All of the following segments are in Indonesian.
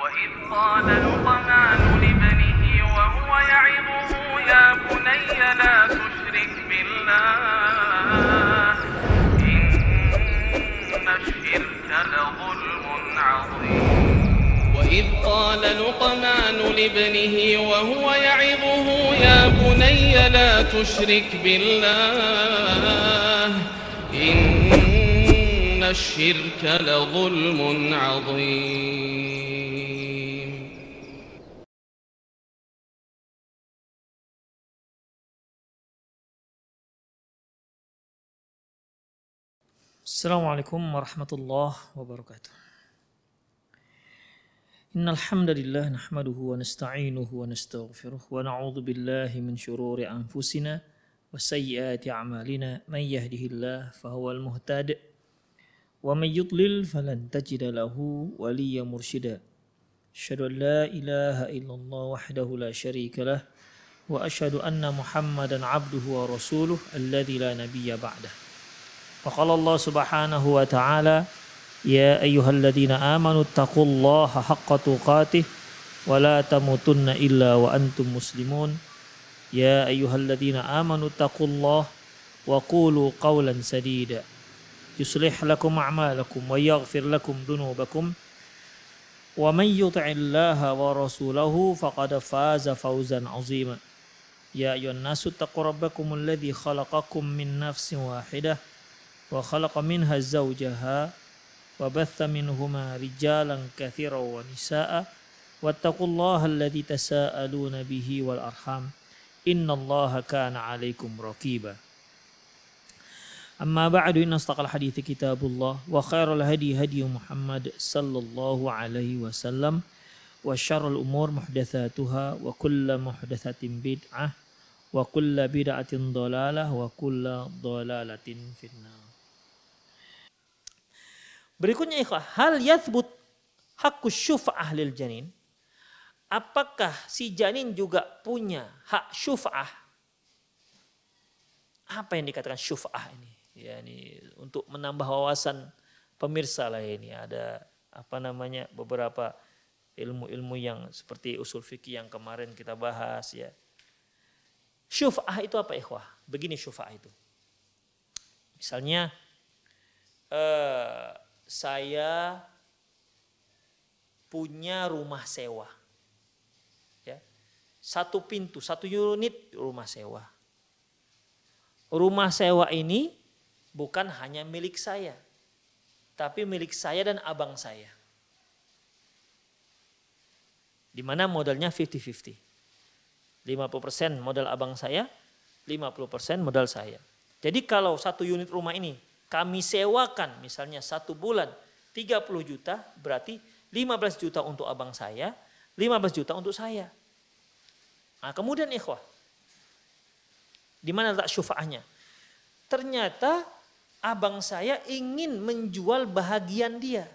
وإذ قال لقمان لابنه وهو يعظه يا بني لا تشرك بالله إن الشرك لظلم عظيم وإذ قال لقمان لابنه وهو يعظه يا بني لا تشرك بالله إن الشرك لظلم عظيم. Assalamualaikum warahmatullahi wabarakatuh. Innal hamdalillah nahmaduhu wa nasta'inuhu wa nastaghfiruh wa na'udzu billahi min shururi anfusina wa sayyiati a'malina may yahdihillahu fahuwal muhtadi wa may yudlil falan tajida lahu waliyyan mursyida. Asyhadu an la ilaha illallah wahdahu la syarika lah wa asyhadu anna Muhammadan 'abduhu wa rasuluh alladzi la nabiyya ba'dah. Wa qala Allah subhanahu wa ta'ala ya ayyuhalladzina amanu taqullaha haqqa tuqatih wa la tamutunna illa wa antum muslimun. Ya ayyuhalladzina amanu taqullaha wa qulu qawlan sadida yuslih lakum a'malakum wa yaghfir lakum dhunubakum wa man yuti'illaha wa rasulahu faqad faza fawzan 'azima. Ya ayyuhan nasu taqu rabbakumul ladzi khalaqakum min nafsin wahidah wa khalaqa minha zawjaha wa batha minhuma rijalan katsiran wa nisaa wattaqullaha alladzi tasaaluna bihi wal arham innallaha kana 'alaikum raqiba. Amma ba'du, inna astaqal hadithi kitabullah wa khairal hadi hadi Muhammad sallallahu alaihi wasallam wa syarrul umur muhdatsatuha wa kullu muhdatsatin bid'ah wa kullu bid'atin dhalalah wa kullu dhalalatin finnar. Berikutnya ikhwah, hal yathbut haqqus syufa'ah lil janin? Apakah si janin juga punya hak syufa'ah? Apa yang dikatakan syufa'ah ini? Ya, ini untuk menambah wawasan pemirsa lah ini. Ada beberapa ilmu-ilmu yang seperti usul fikih yang kemarin kita bahas ya. Syufa'ah itu apa ikhwah? Begini syufa'ah itu. Misalnya saya punya rumah sewa, ya, satu pintu, satu unit rumah sewa. Rumah sewa ini bukan hanya milik saya, tapi milik saya dan abang saya. Di mana modalnya 50-50. 50% modal abang saya, 50% modal saya. Jadi kalau satu unit rumah ini kami sewakan misalnya 1 bulan 30 juta, berarti 15 juta untuk abang saya, 15 juta untuk saya. Nah, kemudian ikhwah, di mana letak syufa'ahnya? Ternyata abang saya ingin menjual bahagian dia.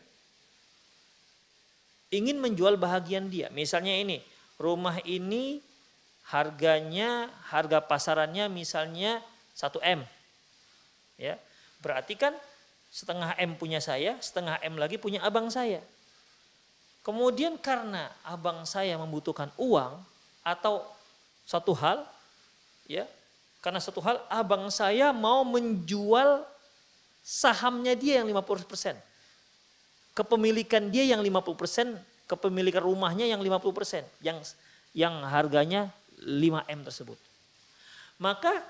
Ingin menjual bahagian dia. Misalnya ini, rumah ini harga pasarannya misalnya 1 M. Ya. Berarti kan setengah M punya saya, setengah M lagi punya abang saya. Kemudian karena abang saya membutuhkan uang atau satu hal, ya, karena satu hal abang saya mau menjual sahamnya dia yang 50%. Kepemilikan dia yang 50%, kepemilikan rumahnya yang 50%, yang harganya 5M tersebut. Maka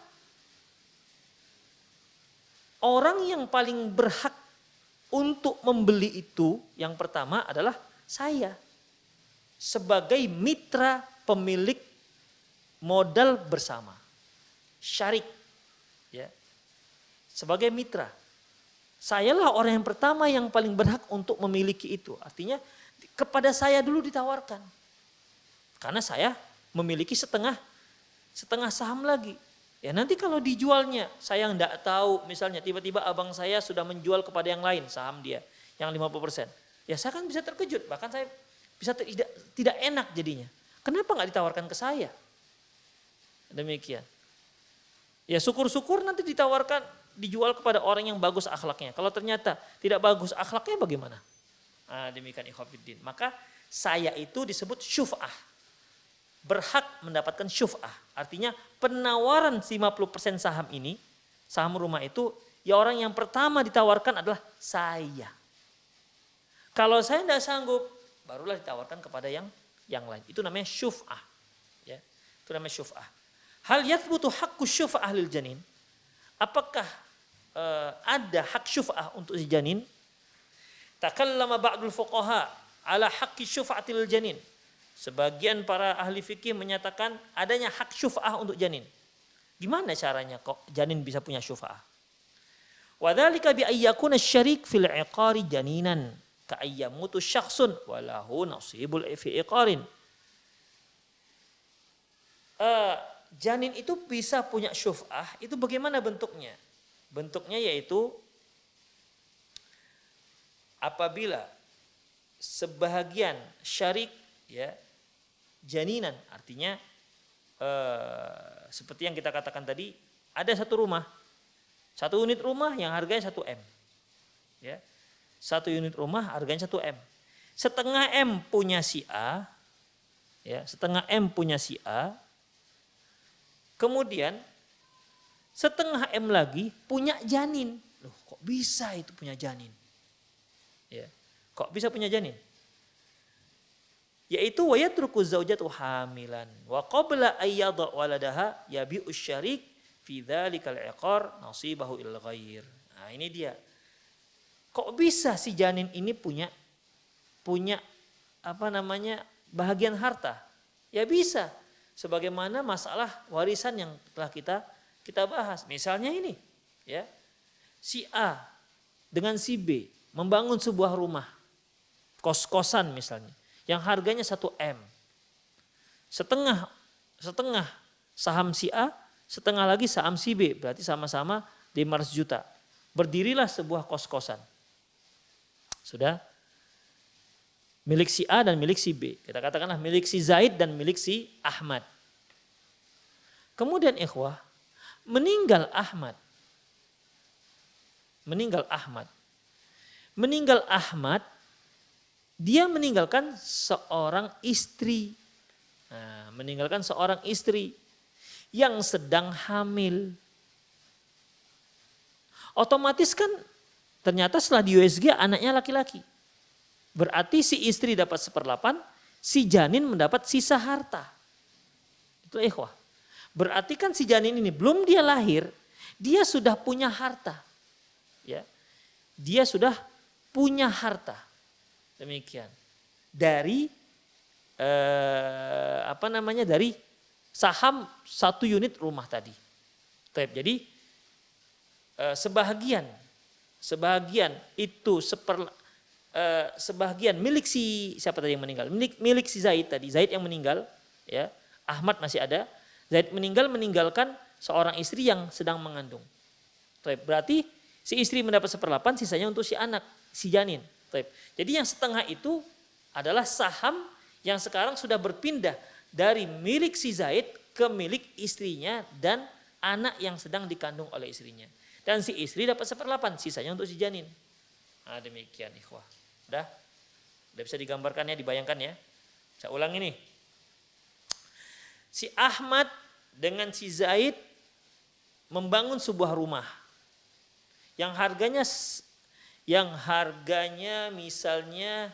orang yang paling berhak untuk membeli itu yang pertama adalah saya. Sebagai mitra pemilik modal bersama. Syarik. Ya. Sebagai mitra. Sayalah orang yang pertama yang paling berhak untuk memiliki itu. Artinya kepada saya dulu ditawarkan. Karena saya memiliki setengah saham lagi. Ya nanti kalau dijualnya, saya enggak tahu misalnya tiba-tiba abang saya sudah menjual kepada yang lain saham dia yang 50%. Ya saya kan bisa terkejut, bahkan saya bisa tidak enak jadinya. Kenapa enggak ditawarkan ke saya? Demikian. Ya syukur-syukur nanti dijual kepada orang yang bagus akhlaknya. Kalau ternyata tidak bagus akhlaknya bagaimana? Nah, demikian ikhwatiddin. Maka saya itu disebut syuf'ah. Berhak mendapatkan syuf'ah. Artinya penawaran 50% saham ini, saham rumah itu, ya orang yang pertama ditawarkan adalah saya. Kalau saya tidak sanggup, barulah ditawarkan kepada yang lain. Itu namanya syuf'ah. Ya, itu namanya syuf'ah. Hal yathbutu haqqu syuf'ah lil janin. Apakah ada hak syuf'ah untuk si janin? Takallama ba'dul fuqaha ala haqqi syuf'atil janin. Sebagian para ahli fikih menyatakan adanya hak syuf'ah untuk janin. Gimana caranya kok janin bisa punya syuf'ah? Wa dzalika bi ayyakuna asy-syarik fil 'iqari janinan ka ayyamutu syakhsun wa lahu nasibul fi iqarin. Janin itu bisa punya syuf'ah, itu bagaimana bentuknya? Bentuknya yaitu apabila sebahagian syarik ya janinan, artinya seperti yang kita katakan tadi, ada satu rumah, satu unit rumah yang harganya 1 M. Ya. Satu unit rumah harganya 1 M. Setengah M punya si A, ya, setengah M punya si A. Kemudian setengah M lagi punya janin. Loh, kok bisa itu punya janin? Ya. Kok bisa punya janin? Yaitu wa yatruku zaujatu hamilan wa qabla ayyadha waladaha yabi'u syarik fi dzalikal iqar nasibahu il ghair. Nah, ini dia. Kok bisa si janin ini punya bahagian harta? Ya bisa. Sebagaimana masalah warisan yang telah kita bahas. Misalnya ini, ya. Si A dengan si B membangun sebuah rumah, kos-kosan misalnya, yang harganya 1 M. Setengah saham si A, setengah lagi saham si B, berarti sama-sama 500 juta. Berdirilah sebuah kos-kosan. Sudah? Milik si A dan milik si B. Kita katakanlah milik si Zaid dan milik si Ahmad. Kemudian ikhwah, meninggal Ahmad. Dia meninggalkan seorang istri. Nah, meninggalkan seorang istri yang sedang hamil. Otomatis kan ternyata setelah di USG anaknya laki-laki. Berarti si istri dapat 1/8, si janin mendapat sisa harta. Itu ikhwah. Berarti kan si janin ini belum dia lahir, dia sudah punya harta. Ya. Dia sudah punya harta. Demikian. Dari dari saham 1 unit rumah tadi. Jadi sebahagian itu sebahagian milik si siapa tadi yang meninggal? Milik si Zaid tadi. Zaid yang meninggal, ya. Ahmad masih ada. Zaid meninggalkan seorang istri yang sedang mengandung. Berarti si istri mendapat 1/8, sisanya untuk si anak, si janin. Jadi yang setengah itu adalah saham yang sekarang sudah berpindah dari milik si Zaid ke milik istrinya dan anak yang sedang dikandung oleh istrinya. Dan si istri dapat 1/8, sisanya untuk si janin. Nah, demikian ikhwah. Udah bisa digambarkan ya, dibayangkan ya. Saya ulang ini. Si Ahmad dengan si Zaid membangun sebuah rumah yang harganya misalnya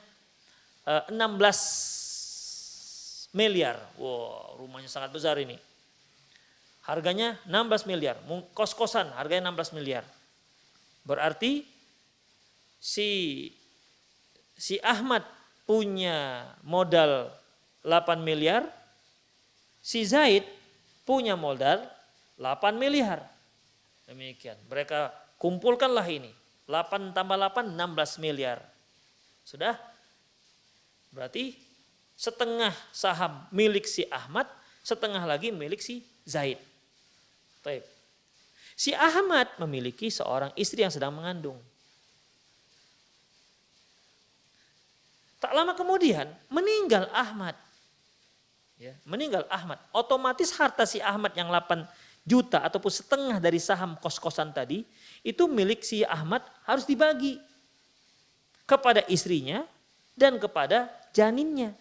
16 miliar. Wow, rumahnya sangat besar ini. Harganya 16 miliar. Kos-kosan harganya 16 miliar. Berarti si Ahmad punya modal 8 miliar. Si Zaid punya modal 8 miliar. Demikian. Mereka kumpulkanlah ini. 8 tambah 8, 16 miliar. Sudah? Berarti setengah saham milik si Ahmad, setengah lagi milik si Zaid. Baik. Si Ahmad memiliki seorang istri yang sedang mengandung. Tak lama kemudian meninggal Ahmad. Ya, meninggal Ahmad. Otomatis harta si Ahmad yang 8 juta ataupun setengah dari saham kos-kosan tadi, itu milik si Ahmad harus dibagi kepada istrinya dan kepada janinnya.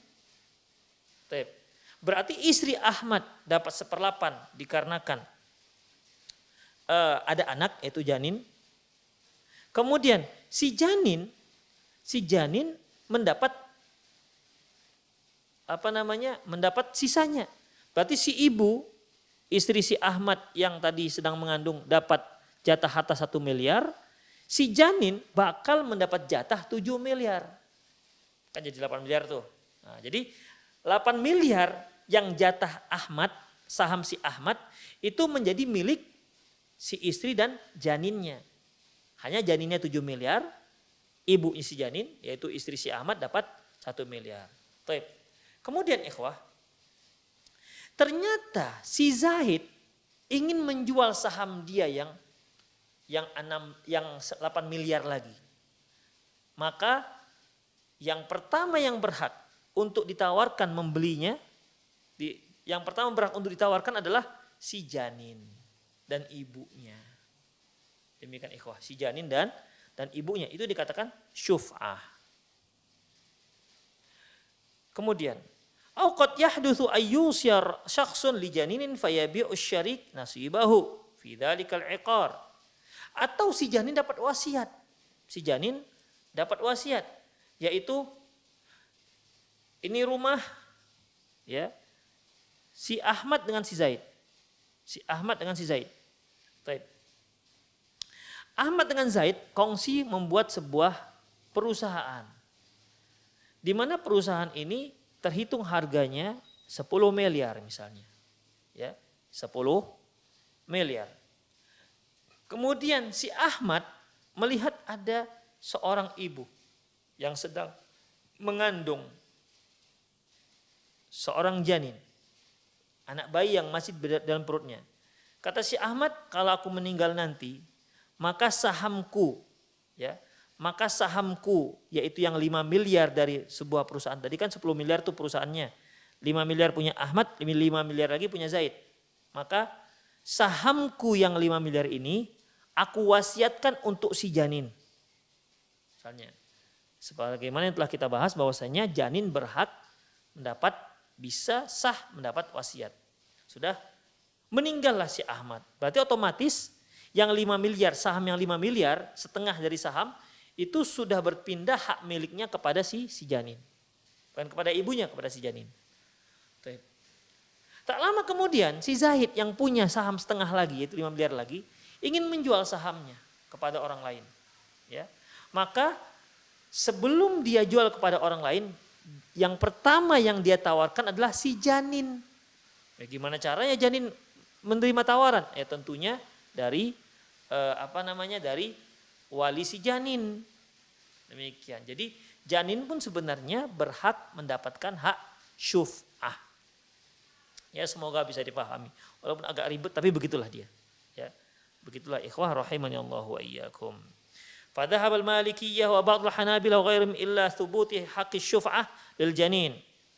Berarti istri Ahmad dapat 1/8 dikarenakan ada anak yaitu janin. Kemudian si janin mendapat mendapat sisanya. Berarti si ibu istri si Ahmad yang tadi sedang mengandung dapat jatah harta 1 miliar, si janin bakal mendapat jatah 7 miliar. Kan jadi 8 miliar tuh. Nah, jadi 8 miliar yang jatah Ahmad, saham si Ahmad itu menjadi milik si istri dan janinnya. Hanya janinnya 7 miliar, ibunya si janin yaitu istri si Ahmad dapat 1 miliar. Baik. Kemudian ikhwah, ternyata si Zaid ingin menjual saham dia yang 8 miliar lagi. Maka yang pertama yang berhak untuk ditawarkan membelinya, yang pertama berhak untuk ditawarkan adalah si janin dan ibunya. Demikian ikhwah, si janin dan ibunya itu dikatakan syuf'ah. Kemudian, au qad yahdutsu ayyusyar syakhsun li janinin fayabi'u syarik nasibahu fi dzalikal iqar. Atau si janin dapat wasiat. Si janin dapat wasiat, yaitu ini rumah ya. Si Ahmad dengan si Zaid. Si Ahmad dengan si Zaid. Baik. Ahmad dengan Zaid kongsi membuat sebuah perusahaan. Di mana perusahaan ini terhitung harganya 10 miliar misalnya. Ya, 10 miliar. Kemudian si Ahmad melihat ada seorang ibu yang sedang mengandung seorang janin. Anak bayi yang masih dalam perutnya. Kata si Ahmad, kalau aku meninggal nanti, maka sahamku yaitu yang 5 miliar dari sebuah perusahaan. Tadi kan 10 miliar itu perusahaannya. 5 miliar punya Ahmad, 5 miliar lagi punya Zaid. Maka sahamku yang 5 miliar ini aku wasiatkan untuk si janin. Misalnya, sebagaimana yang telah kita bahas bahwasanya janin berhak bisa sah mendapat wasiat. Sudah meninggallah si Ahmad. Berarti otomatis yang 5 miliar, saham yang 5 miliar, setengah dari saham itu sudah berpindah hak miliknya kepada si janin. Bukan kepada ibunya, kepada si janin. Tak lama kemudian si Zaid yang punya saham setengah lagi, yaitu 5 miliar lagi, ingin menjual sahamnya kepada orang lain. Ya. Maka sebelum dia jual kepada orang lain, yang pertama yang dia tawarkan adalah si janin. Bagaimana caranya janin menerima tawaran? Ya tentunya dari dari wali si janin. Demikian. Jadi janin pun sebenarnya berhak mendapatkan hak syuf'ah. Ya semoga bisa dipahami. Walaupun agak ribet tapi begitulah dia. Ya. Begitulah ikhwah rahimani Allah wa iyyakum. Fadhahab al-Malikiyah wa ba'd al-Hanabilah wa ghairihim illa thubuti haqqi syuf'ah lil janin.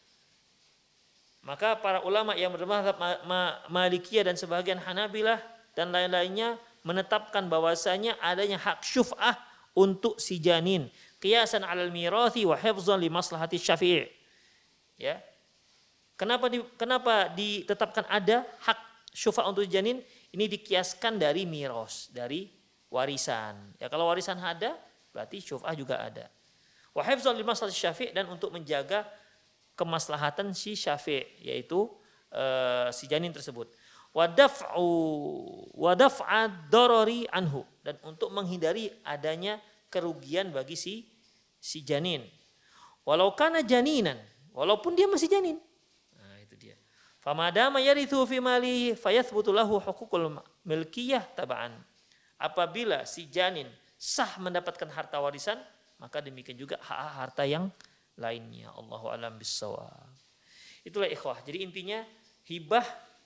Maka para ulama yang bermadzhab Malikiyah dan sebagian Hanabilah dan lain-lainnya menetapkan bahwasanya adanya hak syuf'ah untuk si janin, qiyasan 'alal mirathi wa hifdzan li maslahati syafi'. Ya. Kenapa ditetapkan ada hak syuf'ah untuk janin? Ini dikiaskan dari miras, dari warisan. Ya kalau warisan ada, berarti syuf'ah juga ada. Wa hifdzan li maslahati syafi' dan untuk menjaga kemaslahatan si syafi', yaitu si janin tersebut. Wa daf'a darari anhu, dan untuk menghindari adanya kerugian bagi si janin. Walau kana janinan, walaupun dia masih janin. Nah, itu dia. Famadama yarithu fi malihi fayathbutu lahu huququl milkiyah tab'an. Apabila si janin sah mendapatkan harta warisan, maka demikian juga hak harta yang lainnya. Allahu a'lam bissawab. Itulah ikhwah. Jadi intinya hibah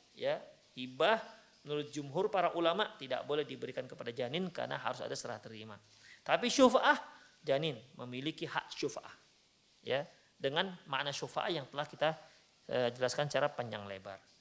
menurut jumhur para ulama tidak boleh diberikan kepada janin karena harus ada serah terima. Tapi syuf'ah, janin memiliki hak syuf'ah. Ya, dengan makna syuf'ah yang telah kita jelaskan secara panjang lebar.